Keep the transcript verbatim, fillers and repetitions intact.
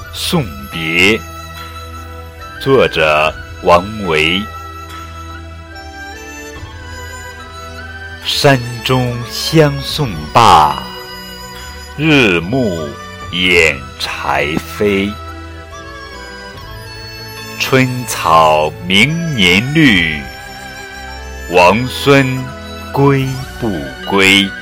送别，作者王维。山中相送罢，日暮掩柴扉。春草明年绿，王孙归不归？